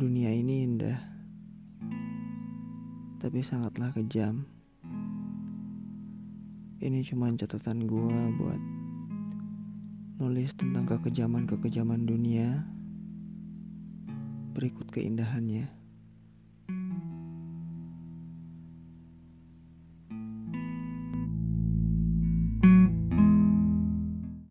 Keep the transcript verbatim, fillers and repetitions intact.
Dunia ini indah, tapi sangatlah kejam. Ini cuma catatan gua buat nulis tentang kekejaman-kekejaman dunia berikut keindahannya.